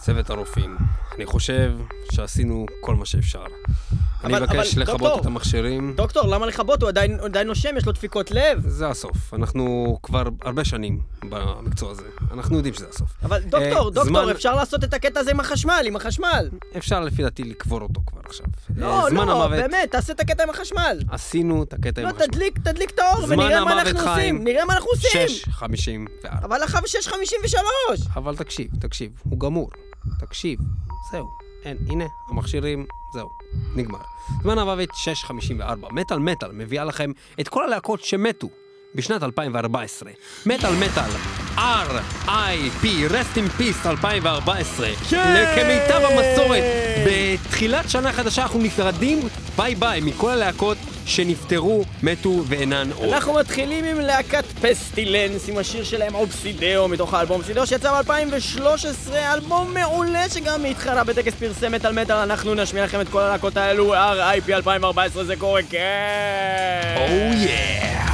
צוות הרופאים, אני חושב שעשינו כל מה שאפשר. אני מבקש לכבות את המכשירים. דוקטור, למה לכבות? הוא עדיין נושם, יש לו דפיקות לב. זה הסוף. אנחנו כבר הרבה שנים במקצוע הזה. אנחנו יודעים שזה הסוף. אבל דוקטור, אפשר לעשות את הקטע הזה עם החשמל. אפשר לפי דעתי לקבור אותו כבר עכשיו. לא, באמת, תעשה את הקטע עם החשמל. עשינו את הקטע עם החשמל. לא, תדליק את האור ונראה מה אנחנו עושים. 6:54. אבל עכשיו 6:53. אבל תקשיב, הוא גמור. תקשיב, זהו. הנה, המכשירים, זהו, נגמר. זמן המוות 6:54. מטל מביאה לכם את כל הלהקות שמתו בשנת 2014. מטל, R.I.P. Rest in Peace 2014. כמיטב המסורת, בתחילת שנה חדשה אנחנו נפרדים ביי מכל הלהקות שנפטרו, מתו ואינן עוד. אנחנו מתחילים עם להקת פסטילנס, עם השיר שלהם אובסידאו, מתוך האלבום אובסידאו שיצא ב-2013, אלבום מעולה שגם התחרה בטקס פרסי מטל. אנחנו נשמיע לכם את כל הלהקות האלו. R.I.P. 2014, זה קורה, כן! Oh yeah!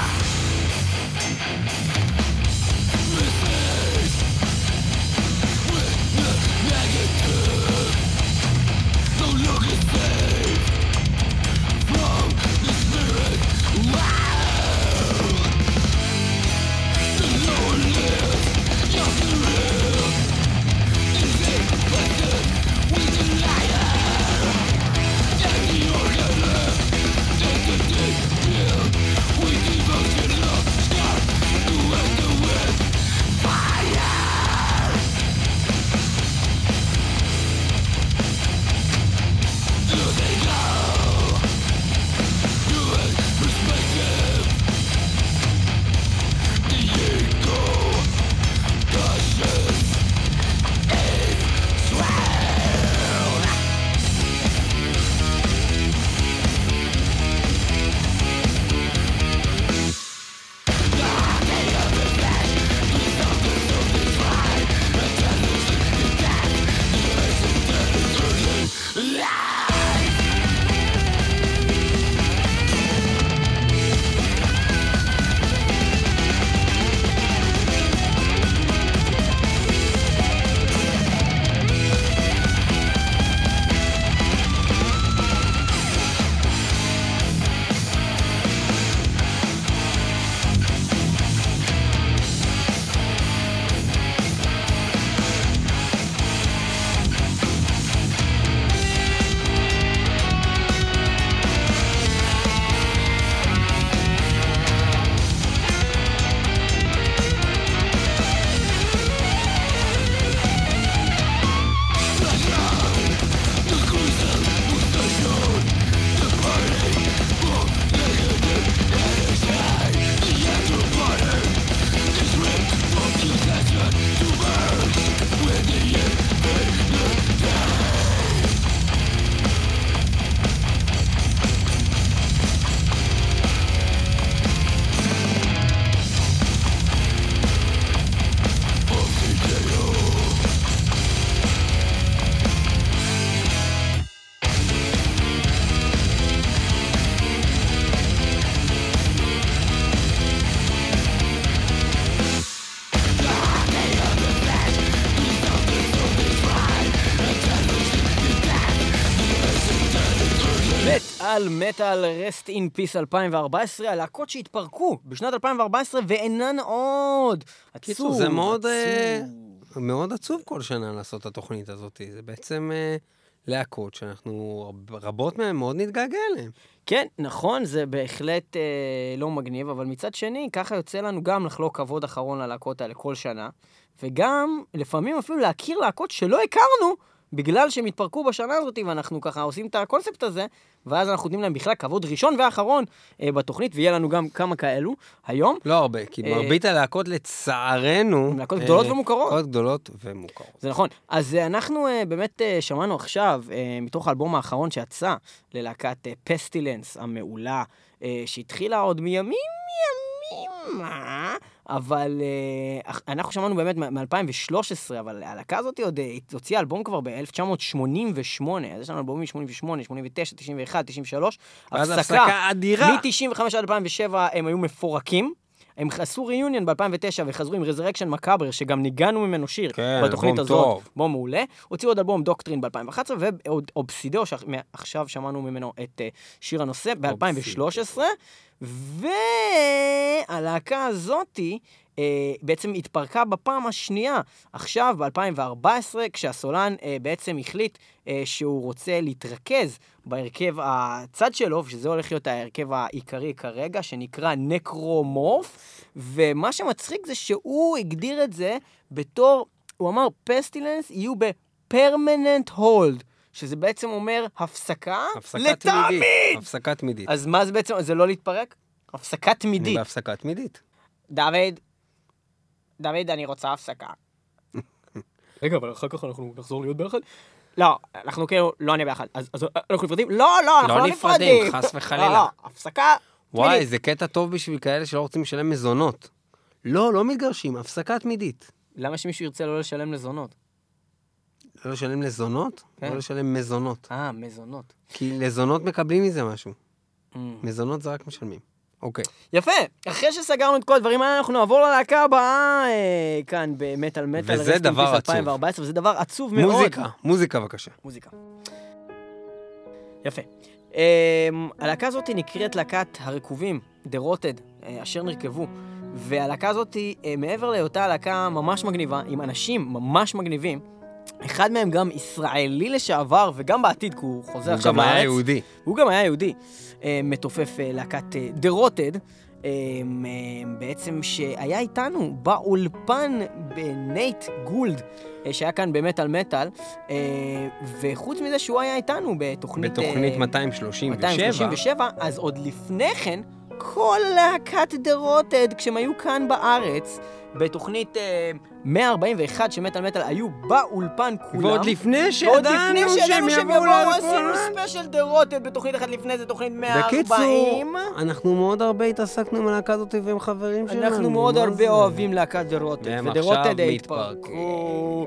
מטל Rest in Peace 2014, הלהקות שהתפרקו בשנת 2014 ואינן עוד. עצוב. זה מאוד עצוב כל שנה לעשות את התוכנית הזאת. זה בעצם להקות שאנחנו רבות מהן מאוד נתגעגע אליהן. כן, נכון, זה בהחלט לא מגניב, אבל מצד שני, ככה יוצא לנו גם לחלוק כבוד אחרון ללהקות האלה כל שנה, וגם לפעמים אפילו להכיר להקות שלא הכרנו, בגלל שהם התפרקו בשנה הזאת, ואנחנו ככה עושים את הקונספט הזה, ואז אנחנו נותנים להם בכלל כבוד ראשון ואחרון בתוכנית, ויהיה לנו גם כמה כאלו היום. לא הרבה, כי מרבית הלהקות לצערנו... להקות גדולות ומוכרות. להקות גדולות ומוכרות. זה נכון. אז אנחנו באמת שמענו עכשיו, מתוך האלבום האחרון שיצא, ללהקת פסטילנס המעולה, שהתחילה עוד מימים, אבל אנחנו שמענו באמת מ-2013, אבל הלהקה הזאת עוד הוציאה אלבום כבר ב-1988, אז יש לנו אלבומים מ-88, 89, 91, 93, הפסקה אדירה. מ-95 עד 2007 הם היו מפורקים, הם עשו ריוניון ב-2009 וחזרו עם Resurrection Macabre, שגם ניגענו ממנו שיר בתוכנית הזאת. בום מעולה. הוציאו עוד אלבום דוקטרין ב-2011, ועוד אובסידיו, שעכשיו שמענו ממנו את שיר הנושא ב-2013, והלהקה הזאתי בעצם התפרקה בפעם השנייה, עכשיו ב-2014, כשהסולן בעצם החליט שהוא רוצה להתרכז בהרכב הצד שלו, שזה הולך להיות ההרכב העיקרי כרגע, שנקרא נקרומורף, ומה שמצחיק זה שהוא הגדיר את זה בתור, הוא אמר, פסטילנס יהיו בפרמננט הולד, שזה בעצם אומר הפסקה לתמיד. הפסקה תמידית. אז מה זה בעצם? זה לא להתפרק? הפסקה תמידית. בהפסקה תמידית. דוד, אני רוצה הפסקה. רגע, אבל אחר כך אנחנו נחזור להיות ביחד? לא, אנחנו כאילו לא נהיה ביחד. אז אנחנו נפרדים? לא, אנחנו לא נפרדים. חס וחלילה. לא, הפסקה תמידית. וואי, זה קטע טוב בשביל כאלה שלא רוצים לשלם מזונות. לא מתגרשים, הפסקה תמידית. למה שמישהו ירצה לא לשלם לזונות? לא לשלם לזונות? לא לשלם מזונות. מזונות. כי לזונות מקבלים מזה משהו. מזונות זה רק משלמים. אוקיי. יפה. אחרי שסגרנו את כל הדברים האלה, אנחנו נעבור ללהקה הבאה כאן במטל מטל. וזה דבר עצוב. 2014, וזה דבר עצוב מאוד. מוזיקה בבקשה. מוזיקה. יפה. הלהקה הזאת נקראת להקת הרקובים, The Rotted, אשר נרכבו. והלהקה הזאת, מעבר להיותה להקה ממש מגניבה, עם אנשים ממש מגניבים, אחד מהם גם ישראלי לשעבר, וגם בעתיד, כי הוא חוזר עכשיו לארץ. הוא גם היה יהודי. הוא גם היה יהודי. מתופף להקת The Rotted, בעצם שהיה איתנו באולפן בנייט גולד, שהיה כאן במטל מטל, וחוץ מזה שהוא היה איתנו בתוכנית 237, אז עוד לפני כן, כל להקת The Rotted, כשהם היו כאן בארץ, בתוכנית 141 שמטל מטל היו באולפן כולם. ועוד לפני שידענו שהם יבואו עשינו ספיישל The Rotted בתוכנית אחת לפני זה, תוכנית 140. בקיצור, אנחנו מאוד הרבה התעסקנו עם הלהקה הזאת ועם חברים שלנו. אנחנו מאוד הרבה אוהבים להקת The Rotted. והם עכשיו מתפרקו.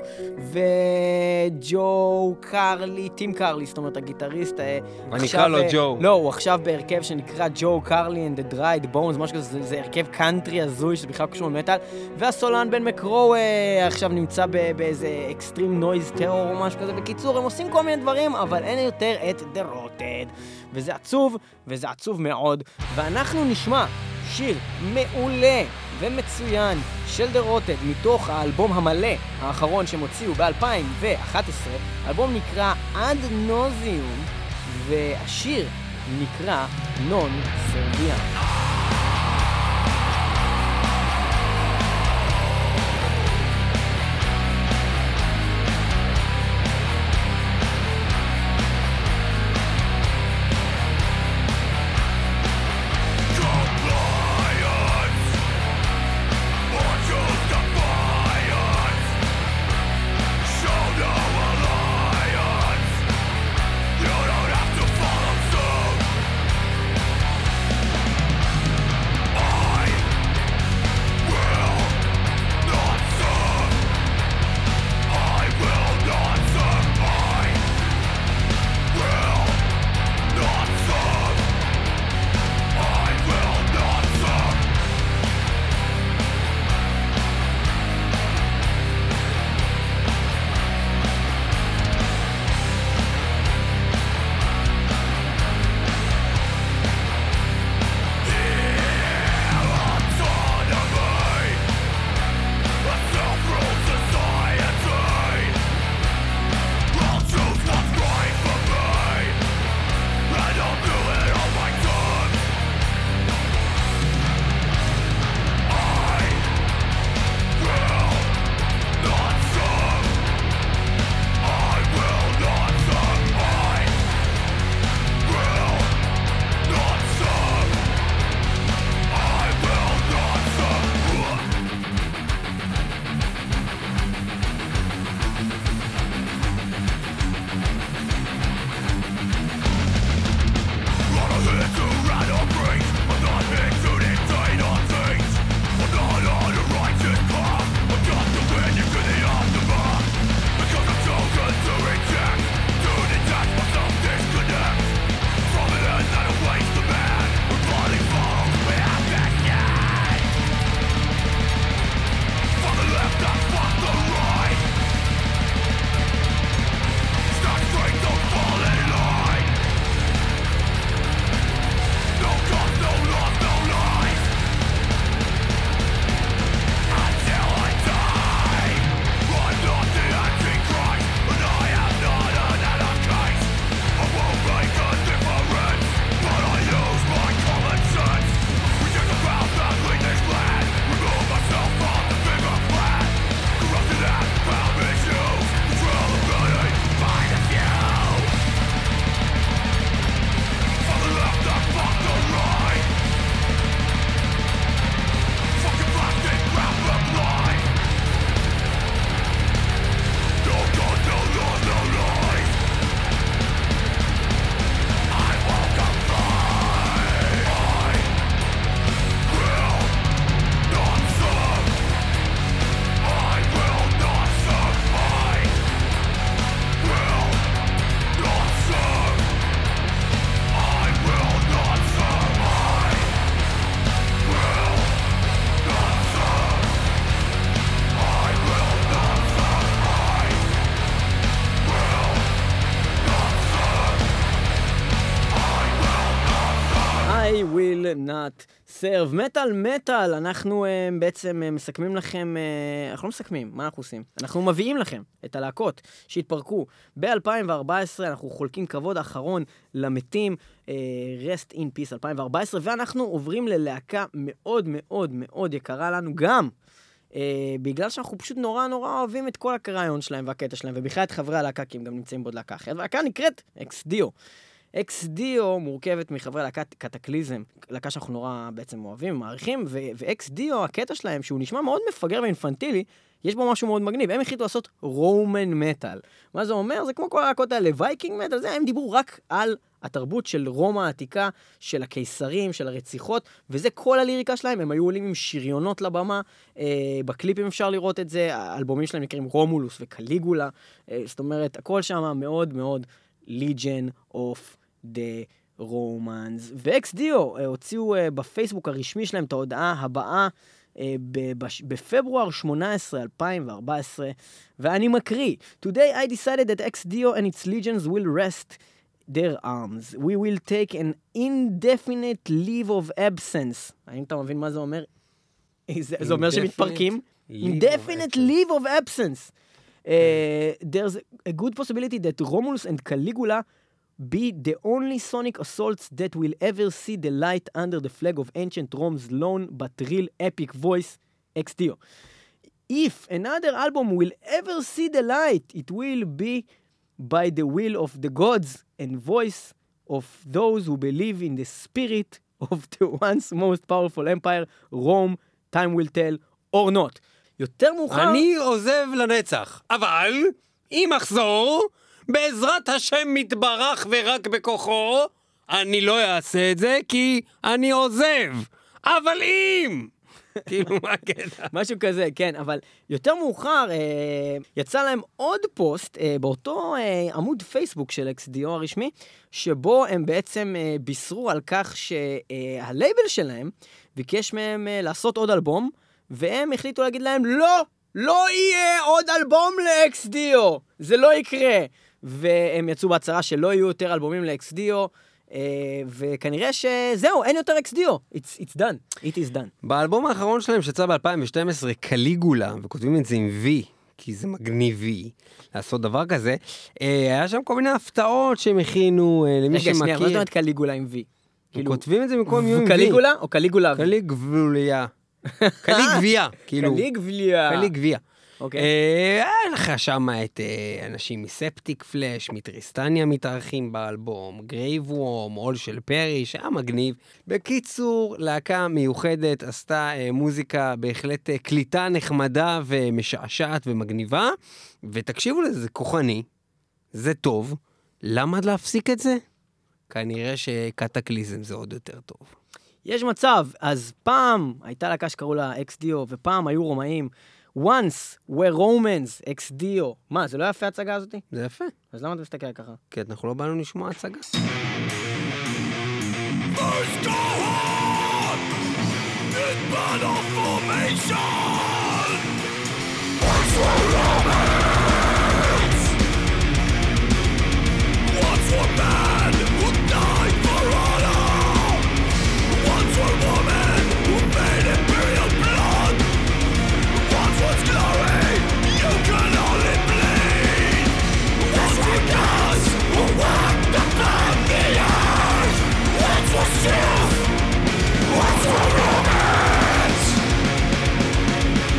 וג'ו קרלי, טים קרלי, זאת אומרת הגיטריסט. ונקרא לו ג'ו. לא, הוא עכשיו בהרכב שנקרא ג'ו קרלי and the Dried Bones, משהו כזה, זה הרכב קאנטרי הזוי שבכלל קשור למטל. והסולן בן מקרו עכשיו נמצא באיזה אקסטרים נויז טרור או משהו כזה. בקיצור, הם עושים כל מיני דברים, אבל אין יותר את The Rotted. וזה עצוב, וזה עצוב מאוד. ואנחנו נשמע שיר מעולה ומצוין של The Rotted מתוך האלבום המלא האחרון שהם הוציאו ב-2011. האלבום נקרא Ad Nauseum, והשיר נקרא Non Serviam. פיאט, סרב, מטל, אנחנו בעצם מסכמים לכם, אנחנו לא מסכמים, מה אנחנו עושים? אנחנו מביאים לכם את הלהקות שהתפרקו ב-2014, אנחנו חולקים כבוד האחרון למתים, Rest in Peace 2014, ואנחנו עוברים ללהקה מאוד מאוד מאוד יקרה לנו גם, בגלל שאנחנו פשוט נורא אוהבים את כל הרעיון שלהם והקטע שלהם, ובכלל את חברי הלהקה, כי הם גם נמצאים בעוד להקה אחרת, והלהקה נקראת אקס-דיו. אקס-דיו מורכבת מחברי להקת קטקליזם, להקה שאנחנו נורא בעצם אוהבים, מעריכים, ואקס-דיו, הקטע שלהם, שהוא נשמע מאוד מפגר ואינפנטילי, יש בו משהו מאוד מגניב. הם החליטו לעשות רומן מטל. מה זה אומר? זה כמו כל הלהקות האלה, וייקינג מטל, זה, הם דיברו רק על התרבות של רומא העתיקה, של הקיסרים, של הרציחות, וזה כל הליריקה שלהם. הם היו עולים עם שריונות לבמה, בקליפים אפשר לראות את זה, האלבומים שלהם נקראים רומולוס וקליגולה, זאת אומרת, הכל שם מאוד מאוד Legion of the Romans. ואקס-דיו הוציאו בפייסבוק הרשמי שלהם את ההודעה הבאה בפברואר 18, 2014, ואני מקריא: Today I decided that X-Dio and its legions will rest their arms. We will take an indefinite leave of absence. האם אתה מבין מה זה אומר? זה אומר שמתפרקים? Indefinite leave of absence. There's a good possibility that Romulus and Caligula be the only sonic assaults that will ever see the light under the flag of ancient Rome's lone but real epic voice, X-Dio. If another album will ever see the light, it will be by the will of the gods and voice of those who believe in the spirit of the once most powerful empire, Rome, time will tell, or not. יותר מאוחר... אני עוזב לנצח, אבל אם אחזור, בעזרת השם מתברך ורק בכוחו, אני לא אעשה את זה כי אני עוזב. אבל אם... כאילו מה קטע? משהו כזה, כן, אבל יותר מאוחר יצא להם עוד פוסט באותו עמוד פייסבוק של אקס-דיו הרשמי, שבו הם בעצם בישרו על כך שהלייבל שלהם ביקש מהם לעשות עוד אלבום, והם החליטו להגיד להם, לא יהיה עוד אלבום לאקס-דיו, זה לא יקרה. והם יצאו בהצהרה שלא יהיו יותר אלבומים לאקס-דיו, וכנראה שזהו, אין יותר אקס-דיו. It's done. It is done. באלבום האחרון שלהם שיצא ב-2012, קליגולה, וכותבים את זה עם V, כי זה מגניבי לעשות דבר כזה, היה שם כל מיני הפתעות שהם הכינו למי שמכיר. רגע, שנייה, מה זאת אומרת קליגולה עם V? הם כותבים את זה במקום עם V. קליגולה או קליגולה? קליגבוליה. קליגביה. קליגביה. היה לך שם את אנשים מספטיק פלאש, מטריסטניה מתארחים באלבום, גרייב וורם, עול של פרי, שהיה מגניב. בקיצור, להקה מיוחדת, עשתה מוזיקה בהחלט קליטה נחמדה ומשעשעת ומגניבה, ותקשיבו לזה, זה כוחני, זה טוב. למה להפסיק את זה? כנראה שקטקליזם זה עוד יותר טוב. יש מצב, אז פעם הייתה להקה שקראו לה אקס-דיו, ופעם היו רומאים, once were Romans, אקס-דיו. מה, זה לא יפה הצגה הזאת? זה יפה. אז למה אתה מסתכל ככה? כי אנחנו לא באנו לשמוע הצגה. First go on in battle formation. Once were Romans. Once were men who died for honor. Once were women who made imperial blood. Once was glory, you can only bleed. Once were gods who walked upon the earth. Once was truth, once were Romans.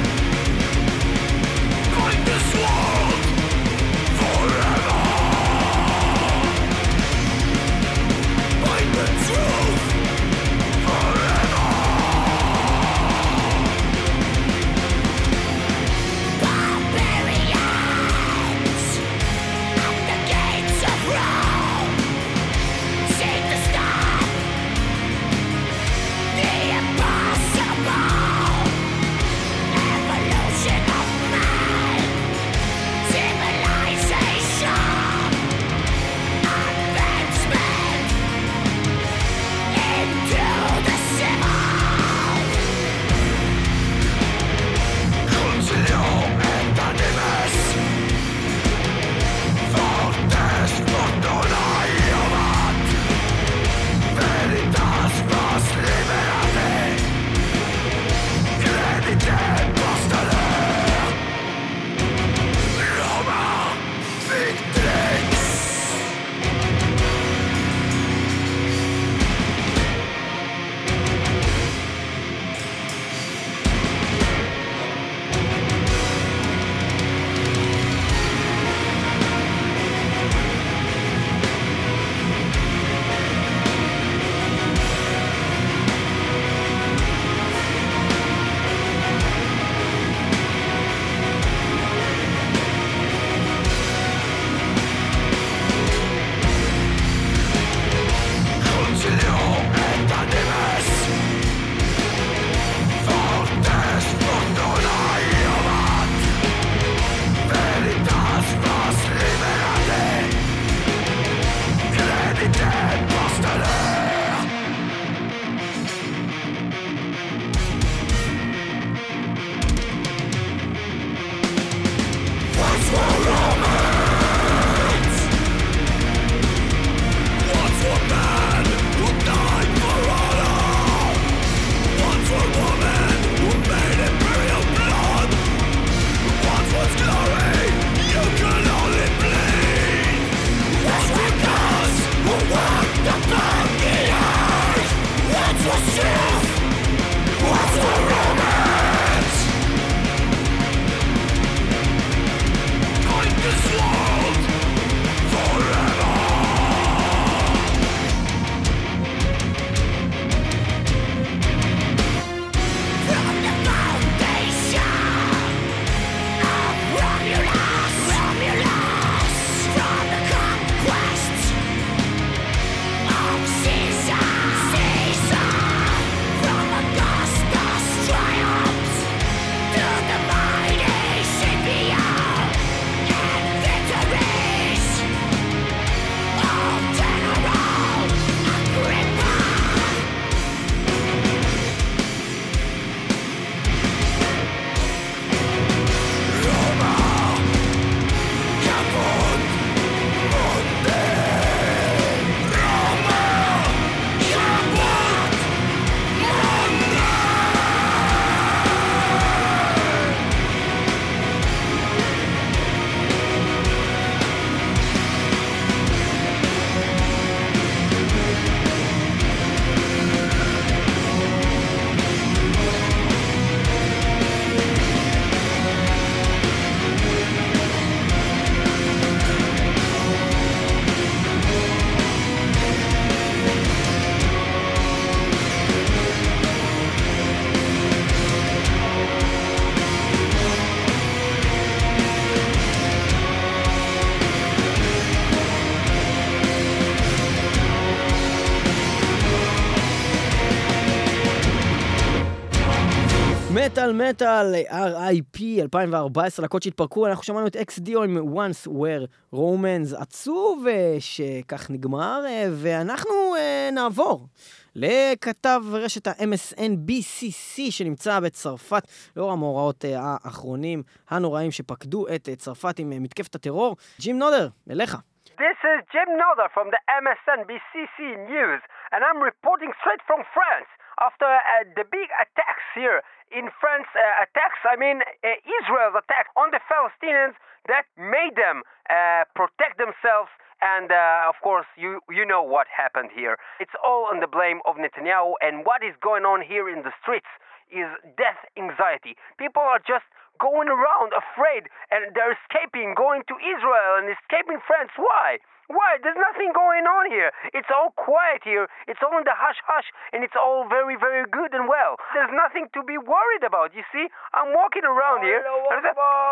מטל מטל, R.I.P. 2014, להקות שהתפרקו, אנחנו שמענו את XDO עם Once Were Romans, עצוב שכך נגמר, ואנחנו נעבור לכתב רשת ה-MSNBCC שנמצא בצרפת, לאור המאורעות האחרונים הנוראים שפקדו את צרפת עם מתקפת הטרור. ג'ים נודר, אליך. This is Jim Nodder from the MSNBCC News, and I'm reporting straight from France. After the big attacks here in France, Israel's attack on the Palestinians that made them protect themselves, and of course, you know what happened here. It's all on the blame of Netanyahu, and what is going on here in the streets is death anxiety. People are just going around afraid, and they're escaping, going to Israel and escaping France. Why? Why? There's nothing going on here. It's all quiet here. It's all in the hush-hush, and it's all very, very good and well. There's nothing to be worried about, you see? I'm walking around here. He's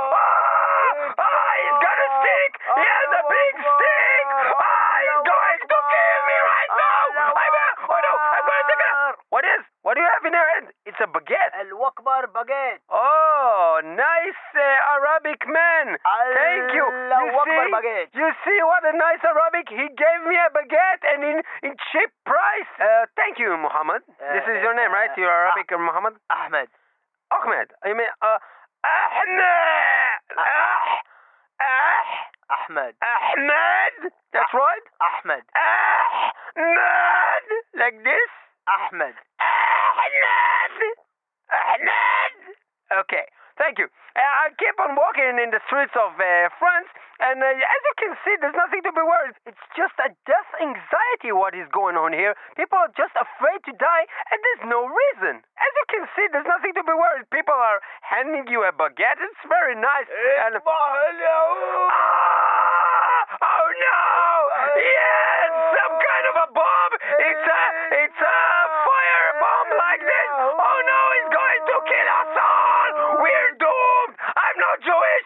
gonna stick! He has a big stick! He's going to kill me right now! Oh no, I'm going to take it out! What do you have in your hand? It's a baguette. Al-Wakbar baguette. Oh, nice Arabic man. Thank you. You see what a nice Arabic? He gave me a baguette and in cheap price. Thank you, Muhammad. This is your name, right? You're Arabic or Muhammad? Ahmed. Ahmed. I mean, Ahmed. Ahmed. That's right? Ahmed. Ahmed. Like this? Ahmed. Ahmed. Okay, thank you. I keep on walking in the streets of France, and as you can see, there's nothing to be worried. It's just a death anxiety what is going on here. People are just afraid to die, and there's no reason. As you can see, there's nothing to be worried. People are handing you a baguette. It's very nice. And... Oh no! Yes, some kind of a bomb. It's a fire bomb like this. Oh no, it's going to kill us all. We're doomed. I'm not Jewish.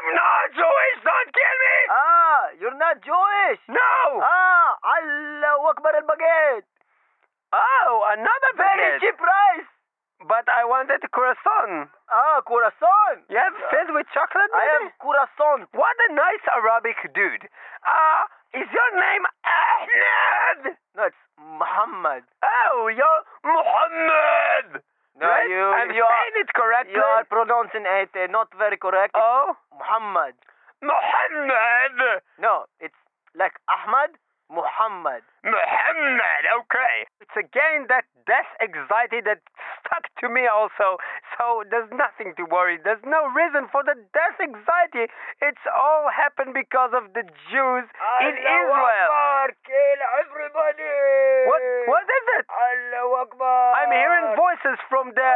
Don't kill me. You're not Jewish. No. Allahu Akbar al-baguette. Oh, another baguette. Very cheap price. But I wanted croissant. Croissant. Yes, filled with chocolate, maybe? I have croissant. What a nice Arabic dude. Is your name Ahmed? No, it's Muhammad. Oh, you're Muhammad. No, right? I'm saying it correctly. You are pronouncing it not very correct. Oh? Muhammad. Muhammad. No, it's like Ahmad, Muhammad. Muhammad, okay. It's again that death anxiety that stuck to me also. So there's nothing to worry. There's no reason for the death anxiety. It's all happened because of the Jews in Israel. Akbar, kill everybody. What is it? Allahu Akbar. I'm hearing voices from the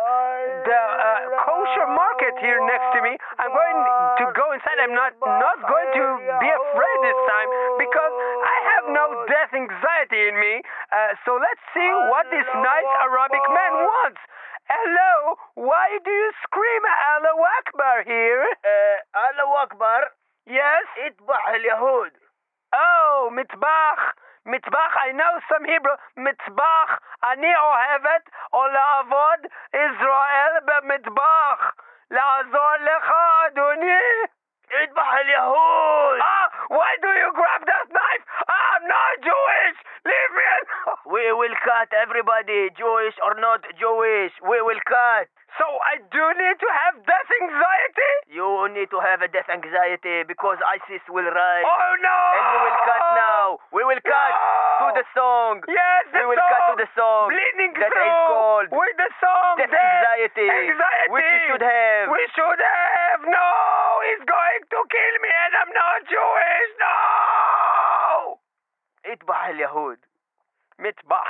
kosher market here next to me. I'm going to go inside. I'm not going to be afraid this time because I have no death anxiety in me. So let's see what this nice Arabic man wants. Hello, why do you scream Allahu Akbar here? Allahu Akbar. Yes? Itbah al-Yahud. Oh, Mitbach. Mitbach, I know some Hebrew. Mitbach, אני אוהבת או לעבוד ישראל במטבח. לעזור לך, אדוני. Itbah al-Yahud. Why do you grab that knife? I'm not Jewish. Leave me alone. We will cut everybody, Jewish or not Jewish. We will cut. So I do need to have death anxiety? You need to have a death anxiety because ISIS will rise. Oh no! And we will cut now. We will cut to the song. Yes, we will cut to the song. Bleeding that through. is called with the song. Death anxiety. Anxiety. Which we should have. We should have. No, he's going to kill me and I'm not Jewish. No. Itbah al-Yahud. Mitbah.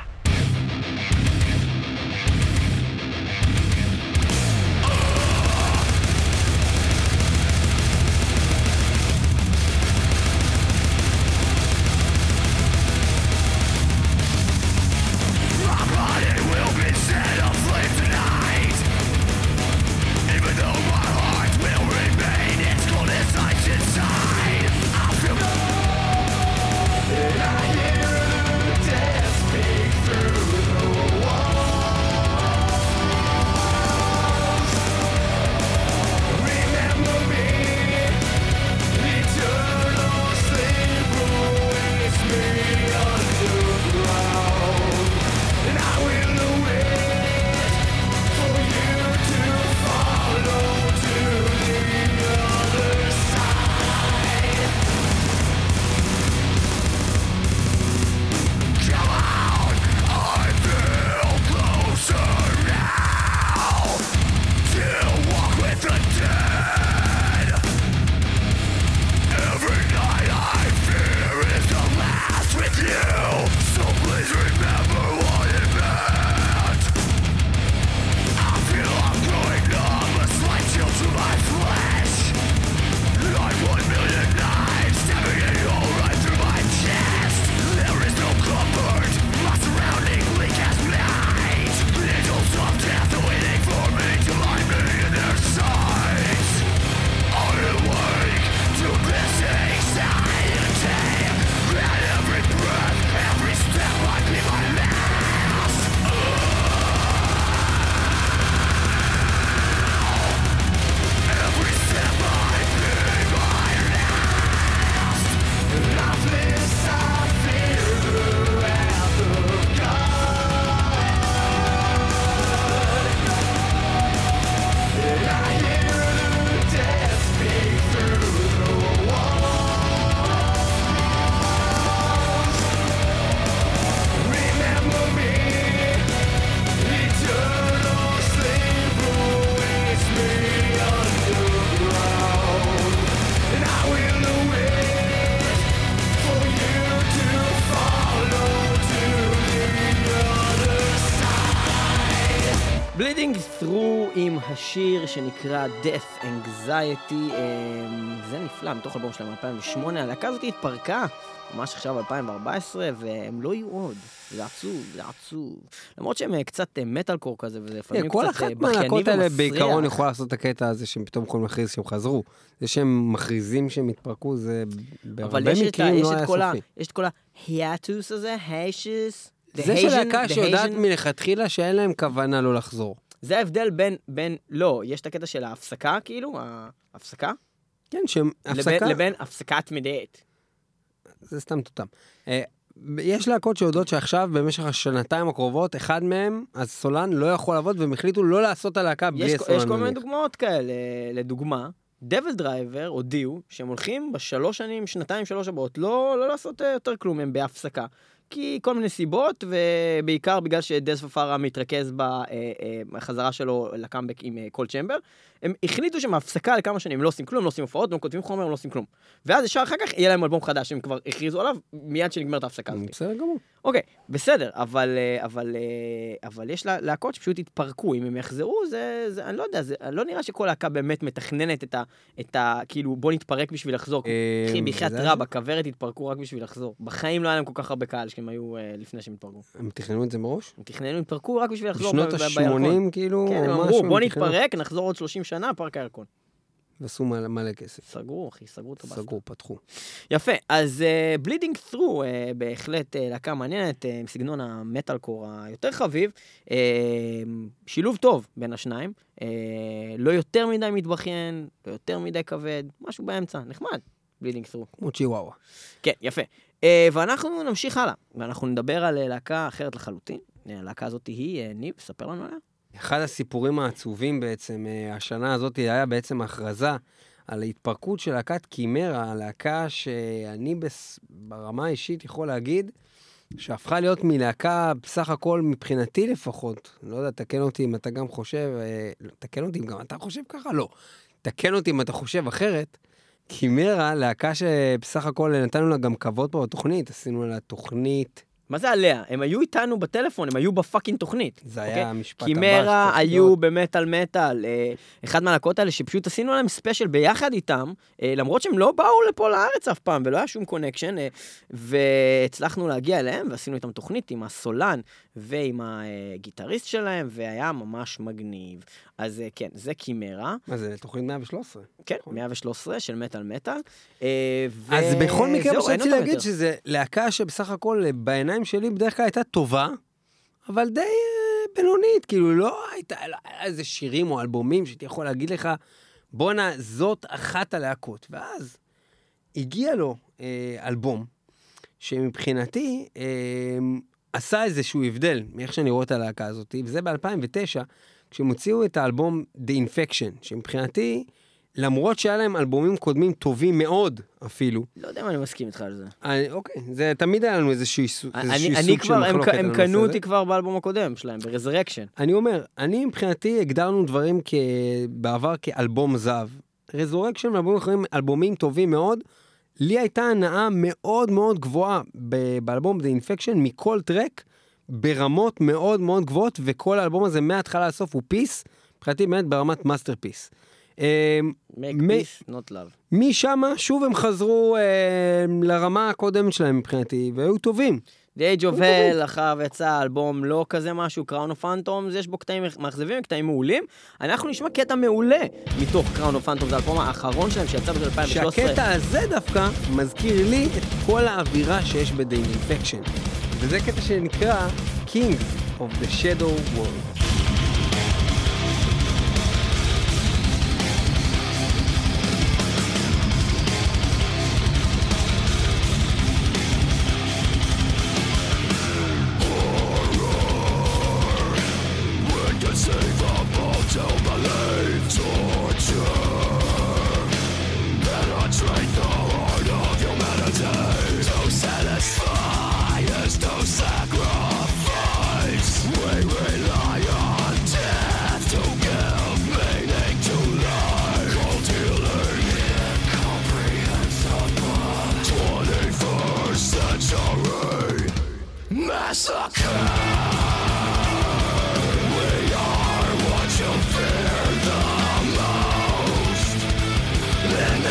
I hear the death speak through עם השיר שנקרא Death Anxiety, זה נפלא, מתוך אלבום שלהם 2008, הלהקה הזאת התפרקה, ממש עכשיו 2014, והם לא יהיו עוד, זה עצוב, למרות שהם קצת מטלקור כזה, וזה לפעמים קצת כל אחת מהלהקות האלה בעיקרון יכולה לעשות את הקטע הזה, שהם פתאום יכולים להכריז שהם חזרו, זה שהם מכריזים שהם התפרקו, זה בהרבה מקרים לא היה סופי. יש את כל ההיאטוס הזה, היישס, זה שלהקה שיודעת מלכתחילה שאין להם כוונה לא לחזור. זה ההבדל בין, לא, יש את הקטע של ההפסקה, כאילו, ההפסקה? כן, שהפסקה... לבין הפסקת מדעת. זה סתם תותם. יש להקות שיודעות שעכשיו, במשך השנתיים הקרובות, אחד מהם, אז סולן לא יכול לעבוד, והם החליטו לא לעשות הלהקה בלי סולן. יש כל מיני דוגמאות כאלה. לדוגמה, דבל דרייבר הודיעו שהם הולכים בשלוש שנים, שנתיים, שלוש הבאות, לא לעשות יותר כלום, הם בהפסקה. כי כל מיני סיבות, ובעיקר בגלל שדז פפארה מתרכז בחזרה שלו לקאמבק עם קול צ'מבר, הם החליטו שמהפסקה לכמה שנים הם לא עושים כלום, הם לא עושים הופעות, הם כותבים חומר, הם לא עושים כלום. ואז ישר אחר כך יהיה להם אלבום חדש, שהם כבר הכריזו עליו, מיד שנגמרת ההפסקה הזאת. בסדר גמור. אוקיי, בסדר, אבל יש להקות שפשוט התפרקו, אם הם יחזרו, אני לא יודע, לא נראה שכל להקה באמת מתכננת את כאילו, בוא נתפרק בשביל לחזור. אחי, בחיית רבה, כוורת התפרקו רק בשביל לחזור. בחיים לא היה להם כל כך הרבה קהל שהם היו לפני שהם התפרקו. הם תכננו את זה מראש? הם תכננו, התפרקו רק בשביל לחזור. בשנות ה-80 כאילו? כן, הם אמרו, בוא נתפרק, נחזור עוד 30 שנה, פארק הירקון. ועשו מלא כסף. סגרו, אחי, סגרו את הבאסטה. סגרו, פתחו. יפה, אז בלידינג ת'רו, בהחלט להקה מעניינת, עם סגנון המטלקור היותר חביב, שילוב טוב בין השניים, לא יותר מדי מתבכיין, לא יותר מדי כבד, משהו באמצע, נחמד, בלידינג ת'רו. כמו צ'יוואווה. כן, יפה. ואנחנו נמשיך הלאה, ואנחנו נדבר על להקה אחרת לחלוטין. הלהקה הזאת היא, ניב, ספר לנו עליה. אחד הסיפורים העצובים בעצם, השנה הזאת היה בעצם הכרזה על ההתפרקות של להקת קימרה, הלהקה שאני ברמה האישית יכול להגיד, שהפכה להיות מלהקה בסך הכל מבחינתי לפחות, לא יודע, תקן אותי אם אתה גם חושב, תקן אותי אם גם אתה חושב ככה, לא, תקן אותי אם אתה חושב אחרת, קימרה, להקה שבסך הכל נתנו לה גם כבוד פה בתוכנית, עשינו לה תוכנית, מה זה עליה? הם היו איתנו בטלפון, הם היו בפאקינג תוכנית. זה היה המשפט הבא. קימרה היו במטל, אחד מהלהקות האלה שפשוט עשינו להם ספיישל ביחד איתם, למרות שהם לא באו לפה לארץ אף פעם, ולא היה שום קונקשן, והצלחנו להגיע אליהם, ועשינו איתם תוכנית עם הסולן, ועם הגיטריסט שלהם, והיה ממש מגניב. אז כן, זה קימרה. מה זה, תוכנית 113? כן, 113 של מטל. אז בכל מקרה, רציתי להגיד שזה להקה שבסך הכל בעיניים שלי בדרך כלל הייתה טובה, אבל די בינונית, כאילו לא הייתה איזה שירים או אלבומים שאתה יכול להגיד לך, בונה, זאת אחת הלהקות. ואז הגיע לו אלבום, שמבחינתי עשה איזשהו הבדל מאיך שאני רואה את הלהקה הזאת, וזה ב-2009, כשהם הוציאו את האלבום The Infection, שמבחינתי, למרות שהיה להם אלבומים קודמים טובים מאוד אפילו. לא יודע אם אני מסכים איתך על זה. אוקיי, זה תמיד היה לנו איזשהו סוג של מחלוקת. הם קנו אותי כבר באלבום הקודם שלהם, ב-Resurrection. אני אומר, אני מבחינתי הגדרנו דברים בעבר כאלבום זהב. Resurrection ואלבומים טובים מאוד, לי הייתה הנאה מאוד מאוד גבוהה באלבום The Infection, מכל טרק, ברמות מאוד מאוד גבוהות, וכל האלבום הזה מההתחלה לסוף הוא פיס, מבחינתי באמת ברמת מאסטרפיס. Make peace, not love. משם שוב הם חזרו לרמה הקודמת שלהם מבחינתי, והיו טובים. The Age of Hell, אחר ויצא אלבום לא כזה משהו, Crown of Phantoms, יש בו קטעים מאכזבים, קטעים מעולים. אנחנו נשמע קטע מעולה מתוך Crown of Phantoms, זה האלבום האחרון שלהם שיצא בשביל 2013. שהקטע הזה דווקא מזכיר לי את כל האווירה שיש ב-The Infection. וזה קטע שנקרא Kings of the Shadow World. Massacre. We are what you fear.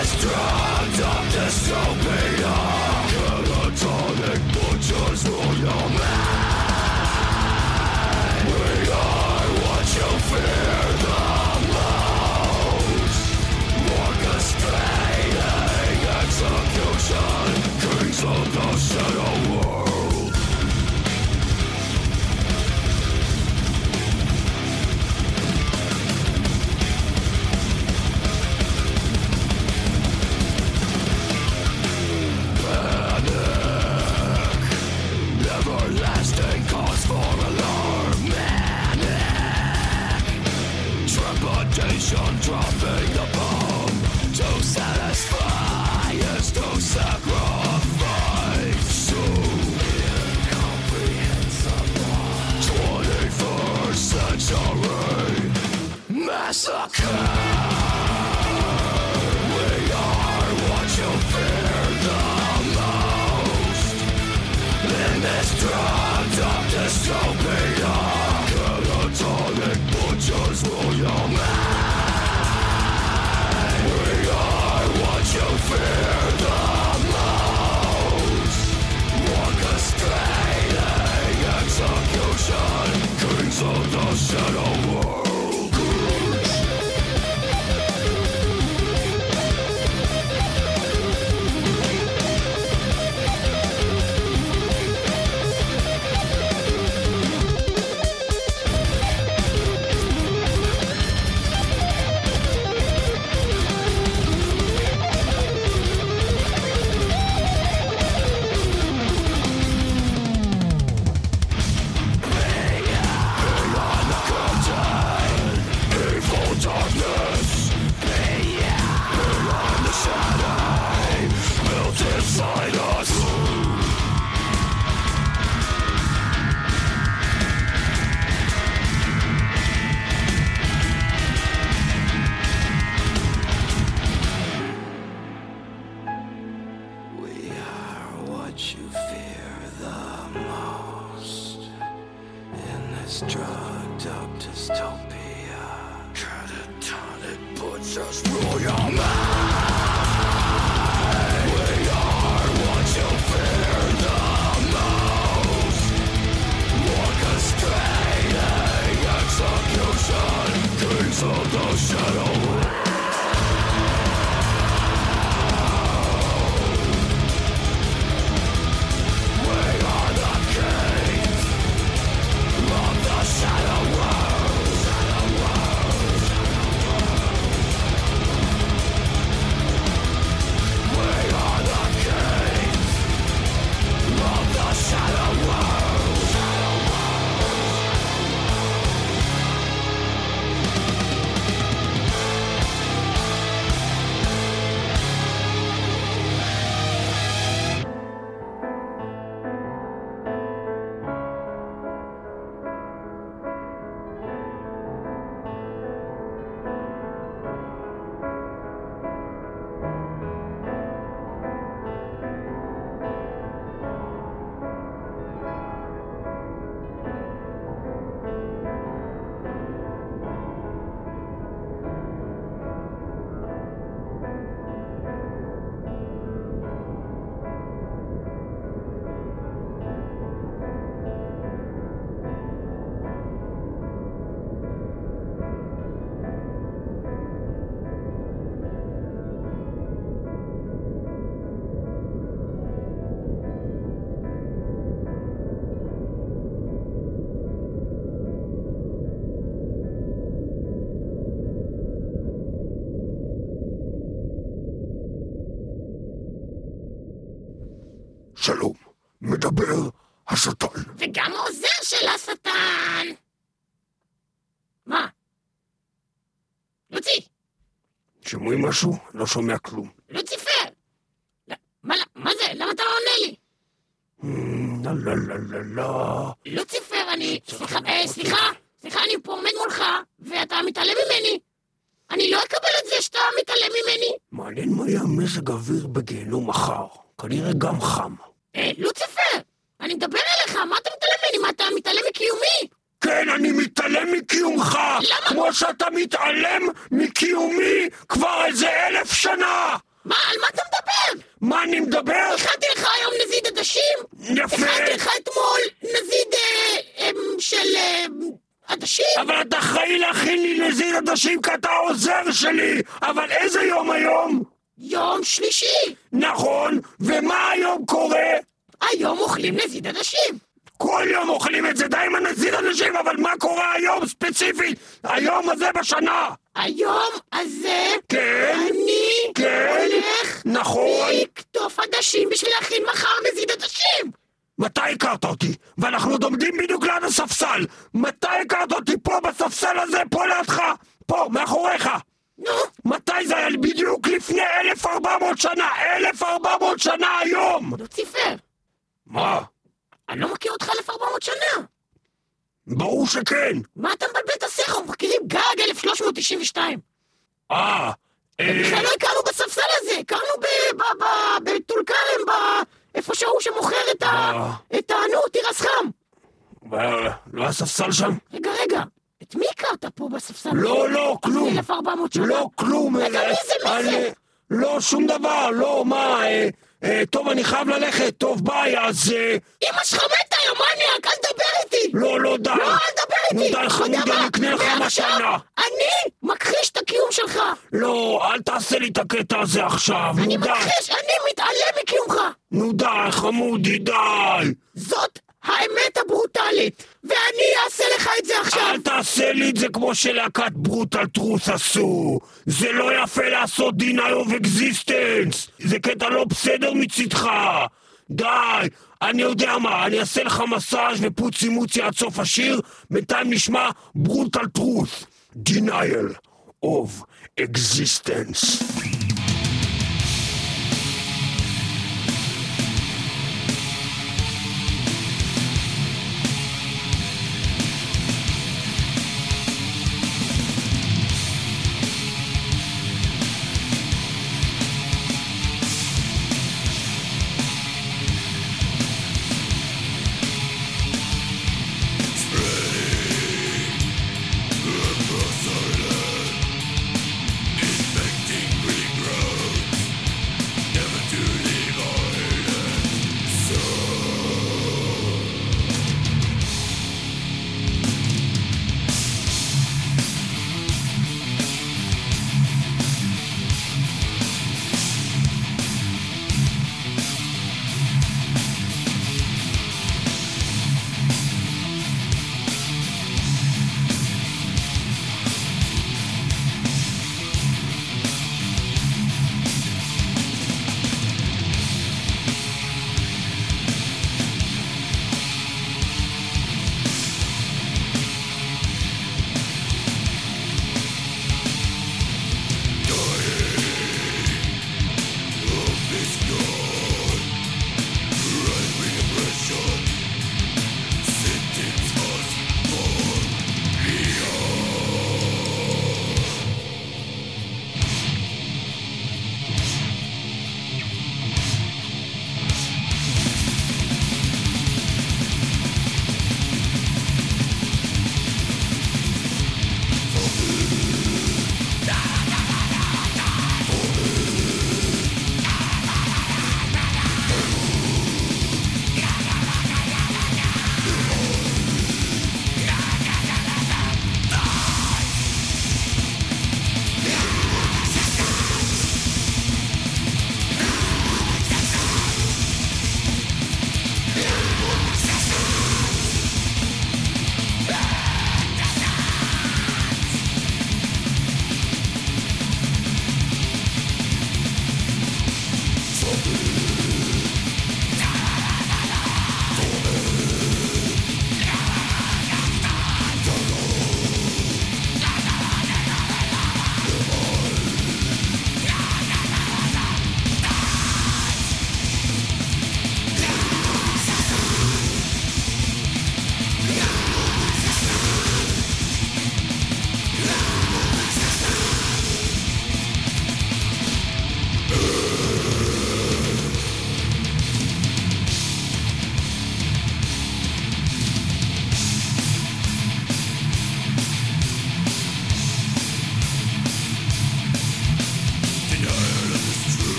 שלום, מדבר השטן. וגם העוזר של השטן. מה? לוצי. שומעים משהו? לא שומע כלום. לוציפר. מה זה? למה אתה לא עונה לי? לא. לוציפר, סליחה, אני פה עומד מולך, ואתה מתעלם ממני. אני לא אקבל את זה שאתה מתעלם ממני. מעניין מה יהיה מזג אוויר בגיהנום מחר. כנראה גם חם. לוציפר, אני מדבר אליך, מה אתה מתעלם ממני? מה אתה מתעלם מקיומי? כן, אני מתעלם מקיומך. למה? כמו שאתה מתעלם מקיומי כבר איזה 1000 שנה. מה, על מה אתה מדבר? מה אני מדבר? הכנתי לך היום נזיד עדשים? יפה. הכנתי לך אתמול נזיד של עדשים? אבל אתה אחראי להכין לי נזיד עדשים כי אתה העוזר שלי. אבל איזה יום היום? יום שלישי. נכון, ומה היום קורה? היום אוכלים נזיד עדשים. כל יום אוכלים את זה, די עם הנזיד עדשים, אבל מה קורה היום ספציפית? היום הזה בשנה. היום הזה כן, אני כן, הולך נכון. לקטוף עדשים בשביל להכין מחר נזיד עדשים. מתי הכרת אותי? ואנחנו עוד עומדים בדיוק ליד הספסל. מתי הכרת אותי פה בספסל הזה, פה לידך? פה, מאחוריך. נו, מתי זה היה? בדיוק לפני 1400 שנה. 1400 שנה היום. לוציפר, מה? אני לא מכיר אותך 1400 שנה. ברור שכן. מה אתה מבלבל את השכל? אנחנו מכירים גג 1392. בכלל לא הכרנו בספסל הזה, הכרנו בטול כרם, איפה שהוא שמוכר את תירס חם. לא הספסל שם? רגע, את מי הכרת פה בספסל? לא, כלום. 1400 שנה? לא, כלום. רגע, מי זה? לא, שום דבר, לא, מה, טוב, אני חייב ללכת, טוב, ביי, אז... אמא שלך מתה, יא מניאק, אל תדבר איתי! לא, די. לא, אל תדבר איתי! נו, די, חמוד, אני אקנה לך מתנה. אני מכחיש את הקיום שלך! לא, אל תעשה לי את הקטע הזה עכשיו, נו, די. אני מכחיש, אני מתעלם מקיומך! נו, די, חמודי, די. זאת האמת הברוטלית, ואני אעשה לך את זה עכשיו! אל תעשה לי את זה כמו שלהקת ברוטל טרוס עשו. זה לא יפה לעשות denial of existence. זה קטע לא בסדר מצדך. די, אני יודע מה, אני אעשה לך מסאז' ופוצי מוצי עד סוף השיר. בינתיים נשמע ברוטל טרוס. denial of existence. Infecting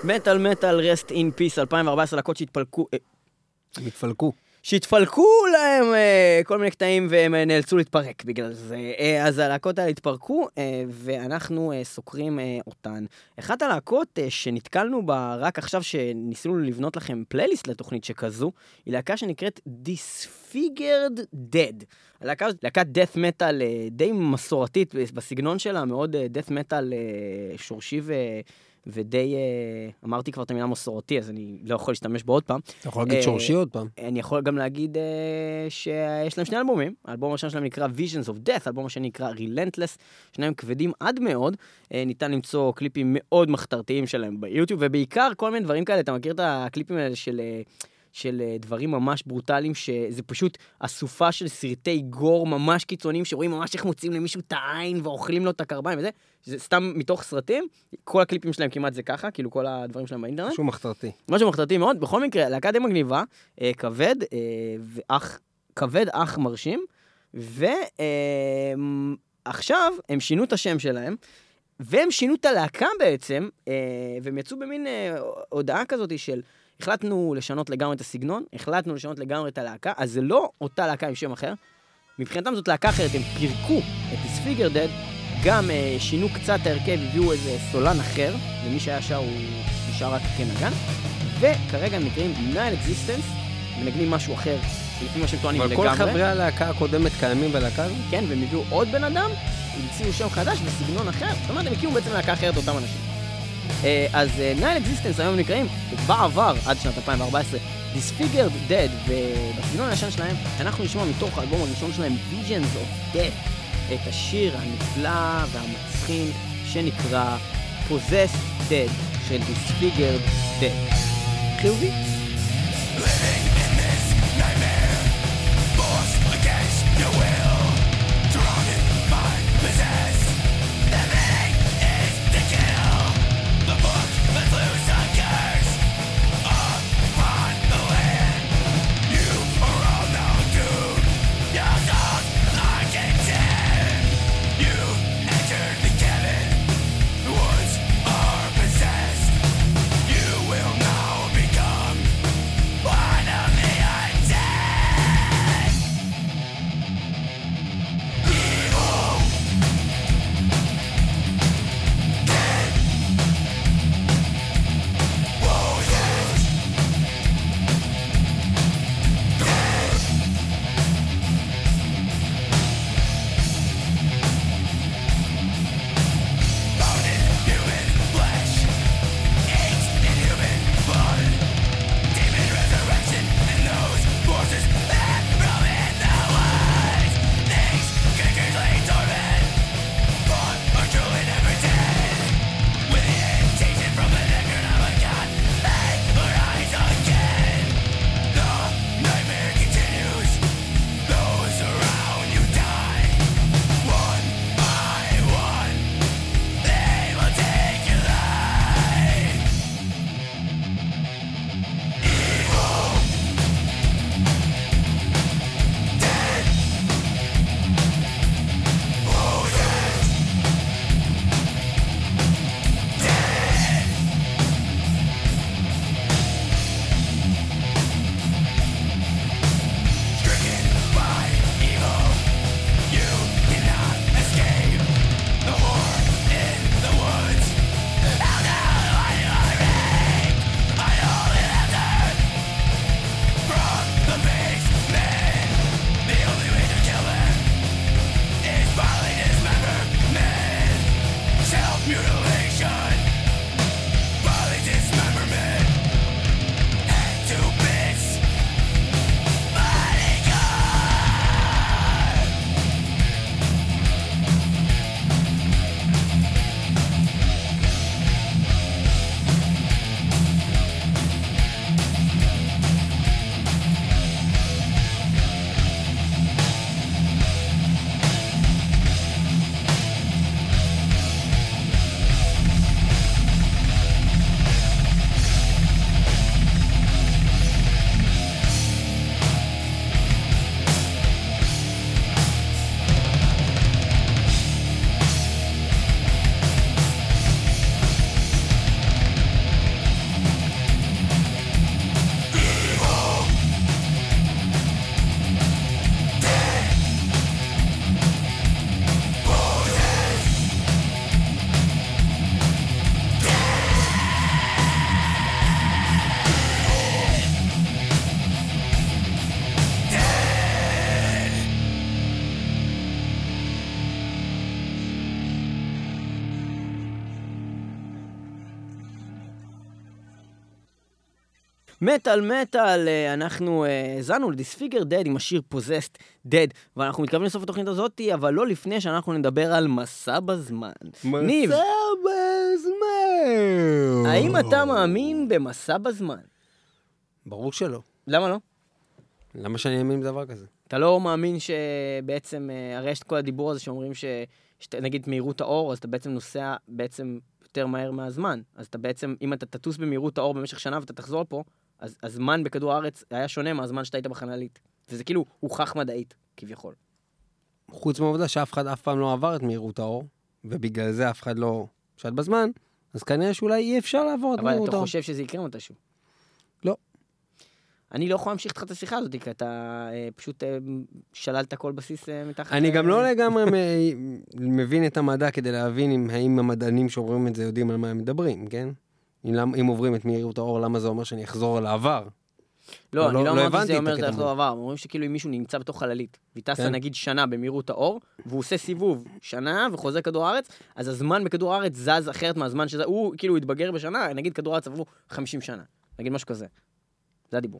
מטל רסט אין פיס 2014, להקות שהתפלקו להם כל מיני קטעים והם נאלצו להתפרק בגלל זה. אז הלהקות האלה התפרקו ואנחנו סוקרים אותן. אחת הלהקות שנתקלנו בה רק עכשיו שניסינו לבנות לכם פלייליסט לתוכנית שכזו, היא להקה שנקראת Disfigured Dead. הלהקה הזאת להקת death metal די מסורתית בסגנון שלה, מאוד death metal שורשי ודי, אמרתי כבר את המילה מסורתי, אז אני לא יכול להשתמש בו עוד פעם. אתה יכול להגיד שורשי עוד פעם. אני יכול גם להגיד שיש להם שני אלבומים. האלבום הראשון שלהם נקרא Visions of Death, האלבום השני נקרא Relentless, שניהם כבדים עד מאוד. ניתן למצוא קליפים מאוד מחתרתיים שלהם ביוטיוב, ובעיקר כל מיני דברים כאלה, אתה מכיר את הקליפים האלה של דברים ממש ברוטליים, שזה פשוט אסופה של סרטי גור ממש קיצוניים, שרואים ממש איך מוצאים למישהו את העין, ואוכלים לו את הקרביים וזה, זה סתם מתוך סרטים, כל הקליפים שלהם כמעט זה ככה, כאילו כל הדברים שלהם באינטרנט. משהו מחתרתי. משהו מחתרתי מאוד, בכל מקרה, להקה די מגניבה, כבד אך מרשים, ועכשיו הם שינו את השם שלהם, והם שינו את הלהקה בעצם, והם יצאו במין הודעה כזאת של, החלטנו לשנות לגמרי את הסגנון, החלטנו לשנות לגמרי את הלהקה, אז זה לא אותה להקה עם שם אחר. מבחינתם זאת להקה אחרת, הם פירקו את Disfigured Dead, גם שינו קצת ההרכב, הביאו איזה סולן אחר, ומי שהיה שר הוא נשאר רק כנגן, וכרגע הם נקראים Nihil Existence, מנגנים משהו אחר, לפי מה שהם טוענים לגמרי. אבל כל חברי הלהקה הקודמת קיימים בלהקה הזאת? כן, והם הביאו עוד בן אדם, המציאו שם חדש בסגנון אחר, זאת אומרת, הם הקימו בעצם להקה אחרת אותם אנשים. אז Nihil Existence היום נקראים, בעבר, עד שנת 2014, Disfigured Dead, ובסגנון הישן שלהם, אנחנו נשמע מתוך האלבום הראשון שלהם, Visions of Death, את השיר הנפלא והמצחין שנקרא Possessed Dead של Disfigured Dead. חיובי? You will now become מטל, אנחנו זנו לדיספיגר דד עם השיר פוזסט דד, ואנחנו מתכוונים לסוף התוכנית הזאת, אבל לא לפני שאנחנו נדבר על מסע בזמן. ניב, מסע בזמן. האם אתה מאמין במסע בזמן? ברור שלא. למה לא? למה שאני אאמין בדבר כזה? אתה לא מאמין שבעצם, הרי יש את כל הדיבור הזה שאומרים נגיד מהירות האור, אז אתה בעצם נוסע בעצם יותר מהר מהזמן. אז אתה בעצם, אם אתה תטוס במהירות האור במשך שנה ואתה תחזור פה, אז הזמן בכדור הארץ היה שונה מהזמן שאתה היית בחללית. וזה כאילו הוכח מדעית, כביכול. חוץ מהעובדה שאף אחד אף פעם לא עבר את מהירות האור, ובגלל זה אף אחד לא שט בזמן, אז כנראה שאולי אי אפשר לעבור את מהירות האור. אבל אתה חושב שזה יקרה מתישהו? לא. אני לא יכול להמשיך איתך את השיחה הזאת, כי אתה פשוט שללת כל בסיס מתחת... אני גם לא לגמרי מבין את המדע כדי להבין האם המדענים שאומרים את זה יודעים על מה הם מדברים, כן? אם עוברים את מהירות האור, למה זה אומר שאני אחזור לעבר? לא, אני לא אמרתי שזה אומר שאתה אחזור לעבר. אומרים שכאילו אם מישהו נמצא בתוך חללית, וטסה נגיד שנה במהירות האור, והוא עושה סיבוב שנה וחוזר כדור הארץ, אז הזמן בכדור הארץ זז אחרת מהזמן שזה, הוא כאילו התבגר בשנה, נגיד כדור הארץ עברו 50 שנה. נגיד משהו כזה. זה הדיבור.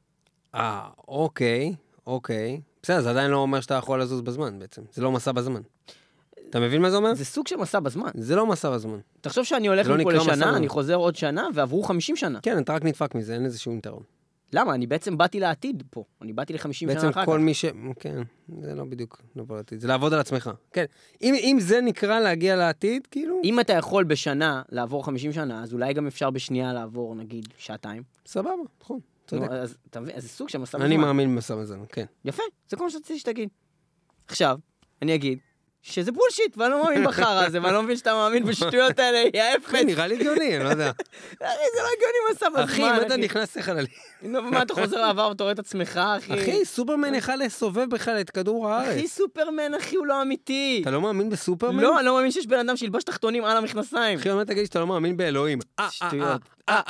אוקיי. בסדר, זה עדיין לא אומר שאתה יכול לזוז בזמן בעצם. זה לא מסע בזמן. אתה מבין מה זה אומר? זה סוג של מסע בזמן. זה לא מסע בזמן. תחשוב שאני הולך מפה לשנה, אני חוזר עוד שנה, ועברו 50 שנה. כן, אתה רק נדפק מזה, אין איזה שום יתרון. למה? אני בעצם באתי לעתיד פה. אני באתי ל-50 שנה אחר כך. בעצם כל מי כן, זה לא בדיוק לבוא לעתיד. זה לעבוד על עצמך. כן. אם זה נקרא להגיע לעתיד, כאילו... אם אתה יכול בשנה לעבור 50 שנה, אז אולי גם אפשר בשנייה לעבור, נגיד, שעתיים. סבבה, נכון. אז אתה מבין, אז זה סוג של מסע בזמן. אני מאמין במסע בזמן, כן. יפה, זה כל מה שרציתי שתגיד. עכשיו, אני אגיד שזה בולשיט, ואני לא מאמין בחרא הזה, ואני לא מבין שאתה מאמין בשטויות האלה, יא אפס. נראה לי גאוני, אני לא יודע. זה לא גאוני מסע בזמן, אחי, אם אתה נכנס לחללי. מה, אתה חוזר לעבר ואתה רואה את עצמך, אחי? אחי, סופרמן יכל לסובב בכלל את כדור הארץ. אחי, סופרמן, אחי, הוא לא אמיתי. אתה לא מאמין בסופרמן? לא, אני לא מאמין שיש בן אדם שילבש תחתונים על המכנסיים. אחי, אומר תגיד שאתה לא מאמין באלוהים. שטויות.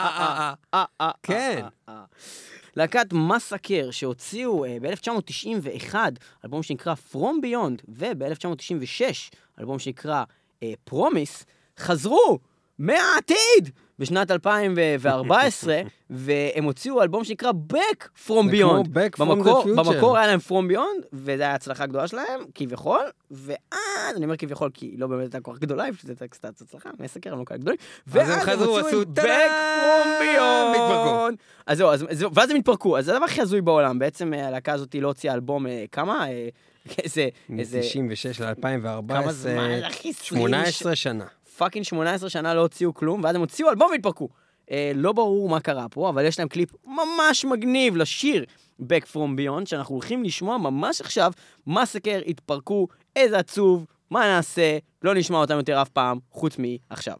כן. להקת מסאקר שהוציאו ב-1991 אלבום שנקרא From Beyond, וב-1996 אלבום שנקרא Promise, חזרו מהעתיד בשנת 2014, והם הוציאו אלבום שנקרא Back From Beyond. במקור היה להם From Beyond, וזו היה הצלחה גדולה שלהם, כביכול, ואז, אני אומר כביכול, כי לא באמת הייתה כל כך גדולה, פשוט הייתה קצת הצלחה, מסקר, הם לא כאלה גדולים, ואז הם חזרו, עשו Back From Beyond. אז זהו, ואז הם התפרקו, אז זה הדבר הכי הזוי בעולם, בעצם הלהקה הזאת לא הוציאה אלבום, כמה? איזה... 96 ל-2014, כמה זמן, אחי, 18 שנה. פאקינג 18 שנה לא הוציאו כלום, ואז הם הוציאו אלבום והתפרקו. לא ברור מה קרה פה, אבל יש להם קליפ ממש מגניב לשיר Back From Beyond, שאנחנו הולכים לשמוע ממש עכשיו. מסאקר התפרקו, איזה עצוב, מה נעשה, לא נשמע אותם יותר אף פעם, חוץ מעכשיו.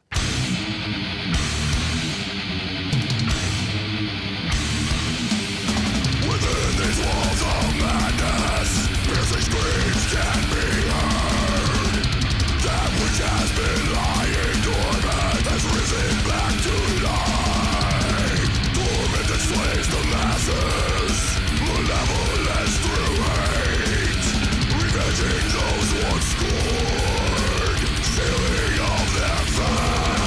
Those once scorned, stealing of their fate.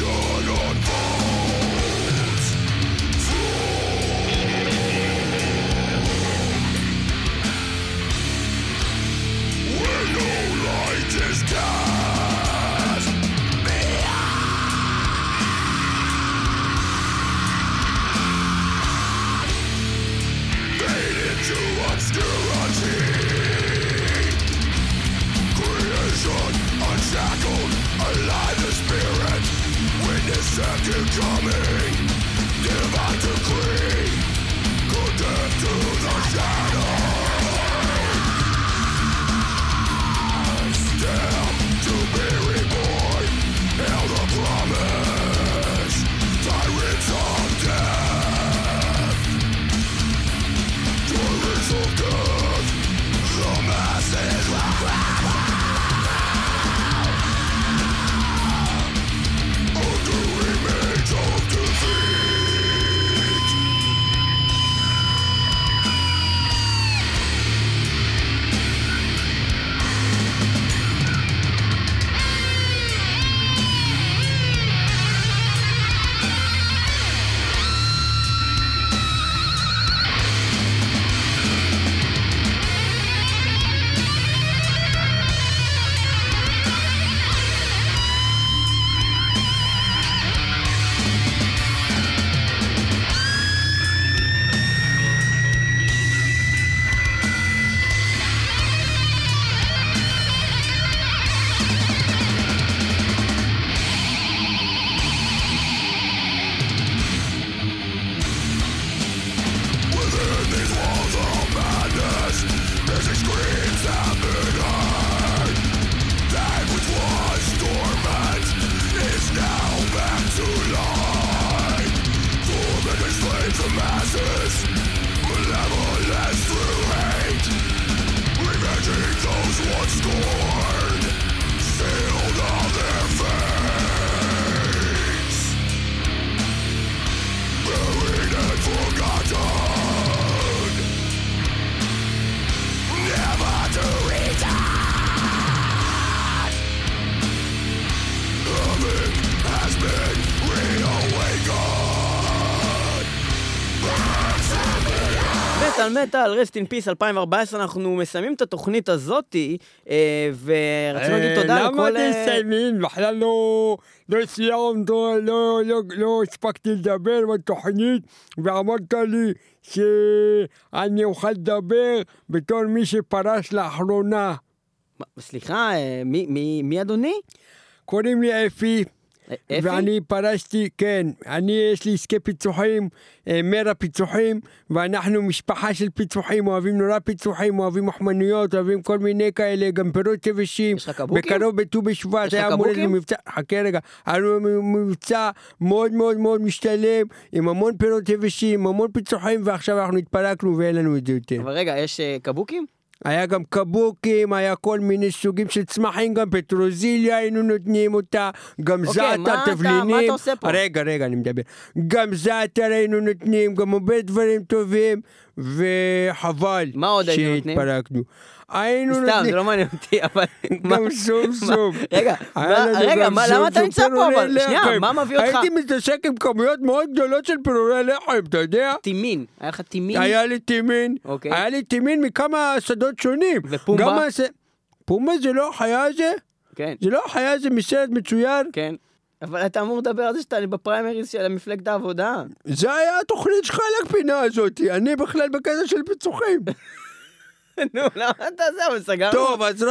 מטל, רסט אין פיס 2014, אנחנו מסיימים את התוכנית הזאת, ורצינו להגיד תודה לכל... למה תסיימים? בכלל לא סיימת, לא הספקתי לדבר בתוכנית, ואמרת לי שאני אוכל לדבר בתור מי שפרש לאחרונה. סליחה, מי אדוני? קוראים לי אפי. ואני פרשתי, כן, יש לי עסקי פיצוחים, מרה פיצוחים, ואנחנו משפחה של פיצוחים, אוהבים נורא פיצוחים, אוהבים מחמנויות, אוהבים כל מיני כאלה, גם פירות יבשים. יש לך קבוקים? בקרוב בט"ו בשבט, יש לך קבוקים? חכה רגע, היה לנו מבצע מאוד מאוד מאוד משתלם, עם המון פירות יבשים, המון פיצוחים, ועכשיו אנחנו התפרקנו ואין לנו את זה יותר. אבל רגע, יש קבוקים? היה גם קבוקים, היה כל מיני סוגים של צמחים, גם פטרוזיליה היינו נותנים אותה, גם זעתר, תבלינים. מה אתה עושה פה? רגע, אני מדבר. גם זעתר היינו נותנים, גם הרבה דברים טובים, וחבל מה עוד היינו נותנים? שהתפרקנו. היינו סתם, נותנים... זה לא מעניין אותי, אבל... גם סום. רגע, למה אתה נמצא פה אבל? שנייה, מה מביא אותך? הייתי מתעסק עם כמויות מאוד גדולות של פירורי לחם, אתה יודע? טימין, היה לך טימין? היה לי טימין, אוקיי. היה לי טימין מכמה שדות שונים. ופומבה? פומבה זה לא החיה הזה? כן. זה לא החיה הזה מסרט מצוין? כן. אבל אתה אמור לדבר על זה שאתה בפריימריז של מפלגת העבודה. זה היה התוכנית שלך לפינה הזאת, אני בכלל בקטע של פיצוחים. נו, למה אתה זה? אבל סגרנו. טוב, אז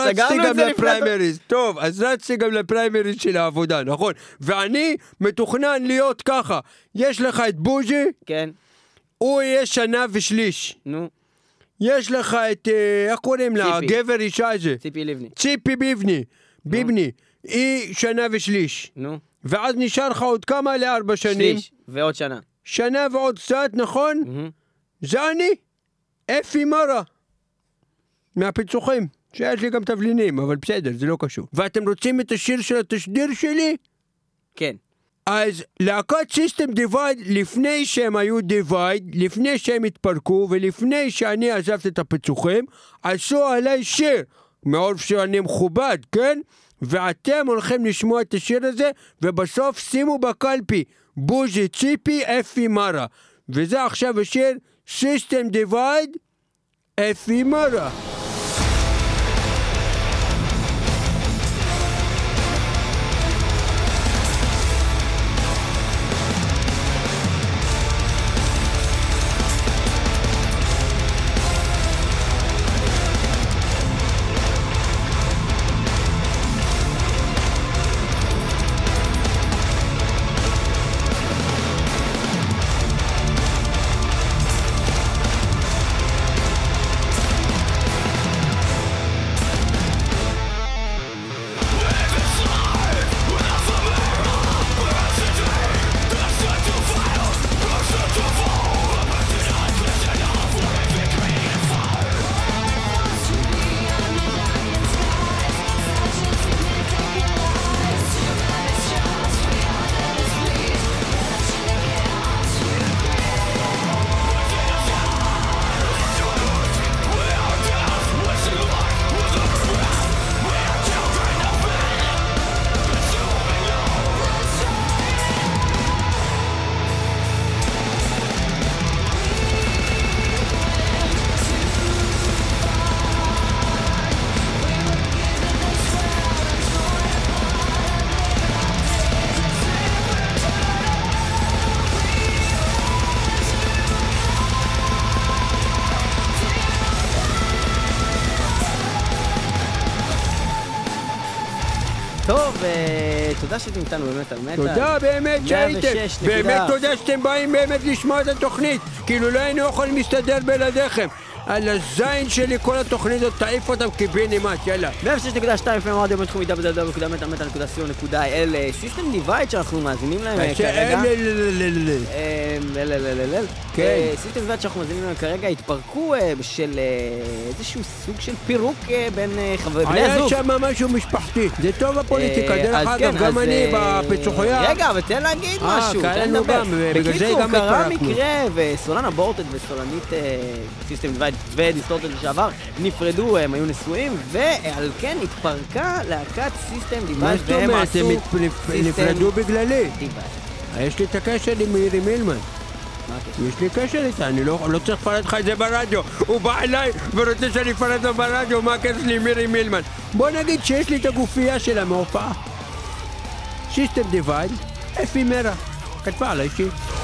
רצתי גם לפריימריז של העבודה, נכון? ואני מתוכנן להיות ככה. יש לך את בוז'י, כן. הוא יהיה שנה ושליש. נו. יש לך את, איך קוראים לה? גבר אישה הזה. ציפי לבני. ציפי ביבני. היא שנה ושליש. נו. ואז נשאר לך עוד כמה ל4 שנים. שליש, ועוד שנה. שנה ועוד קצת, נכון? זה אני, אפי מרה. מהפיצוחים. שיש לי גם תבלינים, אבל בסדר, זה לא קשור. ואתם רוצים את השיר של התשדיר שלי? כן. אז להקת סיסטם דיווייד, לפני שהם היו דיווייד, לפני שהם התפרקו, ולפני שאני עזבתי את הפיצוחים, עשו עליי שיר. מאוד שאני מכובד, כן? ואתם הולכים לשמוע את השיר הזה, ובסוף שימו בקלפי, בוז'י ציפי אפי מרה. וזה עכשיו השיר System Divide אפי מרה. טוב, תודה שאתם איתנו באמת על מטל. תודה באמת שהייתם. 106. באמת תודה שאתם באים באמת לשמוע את התוכנית. כאילו לא היינו יכולים להסתדר בלעדיכם. על הזין שלי כל התוכנית הזאת תעיף אותם כבינימט, יאללה. 106.2 FM רדיו בינתחומי www.metal.co.il סיסטם דיווייד שאנחנו מאזינים להם כרגע. סיסטם דיווייד שאנחנו מאזינים להם כרגע התפרקו בשל איזשהו סוג של פירוק בין בני הזוג. היה שם משהו משפחתי. זה טוב הפוליטיקה, דרך אגב, גם אני בפיצוחיה. רגע, אבל תן להגיד משהו, תן לדבר. בקיצור, קרה מקרה וסולנה בורטד וסולנית סיסטם דיווייד ודיסטורטד לשעבר נפרדו, הם היו נשואים, ועל כן התפרקה להקת סיסטם דיווייד, והם עשו נפרדו בגללי. דיווייד. יש לי את הקשר עם מירי מילמן. יש לי קשר איתה, אני לא צריך לפרט לך את זה ברדיו. הוא בא אליי ורוצה שאני אפרט לו ברדיו, מה הקשר לי עם מירי מילמן? בוא נגיד שיש לי את הגופייה שלה מהופעה. סיסטם דיווייד, אפי מרה. כתבה עליי שיר.